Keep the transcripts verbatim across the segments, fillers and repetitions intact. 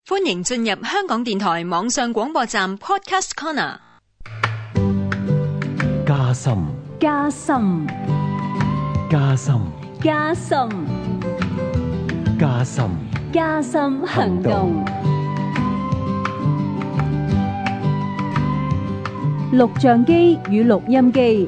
歡迎進入香港電台網上廣播站 Podcast Corner。 加深， 加深， 加深， 加深， 加深， 加深行動。錄像機與錄音機。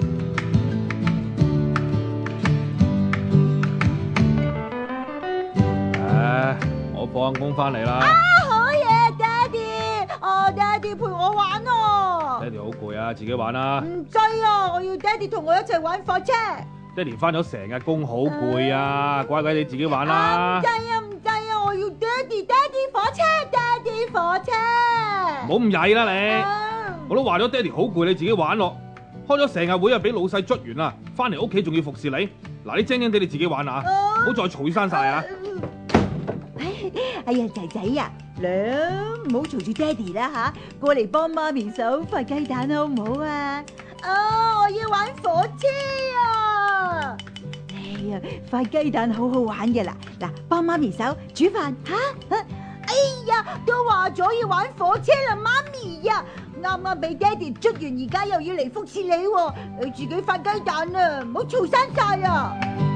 唉，我放工翻嚟啦。 啊，好嘢，爹哋！哦，爹哋陪我玩哦。 爹哋好攰啊，自己玩啦。 唔制啊，我要爹哋同我一齊玩火車。 爹哋翻咗成日工，好攰啊，乖乖你自己玩啦。 唔制啊，唔制啊，我要爹哋，爹哋火車，爹哋火車。 唔好咁曳啦你， 啊、 我都話咗爹哋好攰，你自己玩咯。開咗成日會啊，俾老細捽完啦，翻嚟屋企仲要服侍你。嗱，你精精地你自己玩啊，唔好再嘈生晒啊！ 哎呀，仔仔啊，娘，唔好嘈住爹哋啦吓，過嚟幫媽咪手塊雞蛋好唔好啊？啊，我要玩火車啊！哎呀，塊雞蛋好好玩嘅啦，嗱，幫媽咪手煮飯吓。哎呀，都話咗要玩火車啦，媽咪呀，啱啱俾爹哋捽完，而家又要嚟服侍你喎，你自己塊雞蛋啊，唔好嘈生晒啊！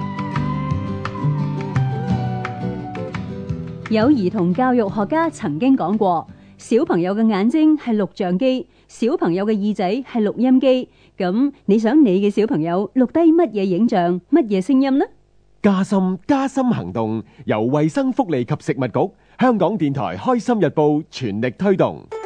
有兒童教育學家曾經講過，小朋友嘅眼睛係錄像機，小朋友嘅耳仔係錄音機。咁你想你嘅小朋友錄低乜嘢影像、乜嘢聲音呢？ 加深加深行動由衛生福利及食物局、香港電台開心日報全力推動。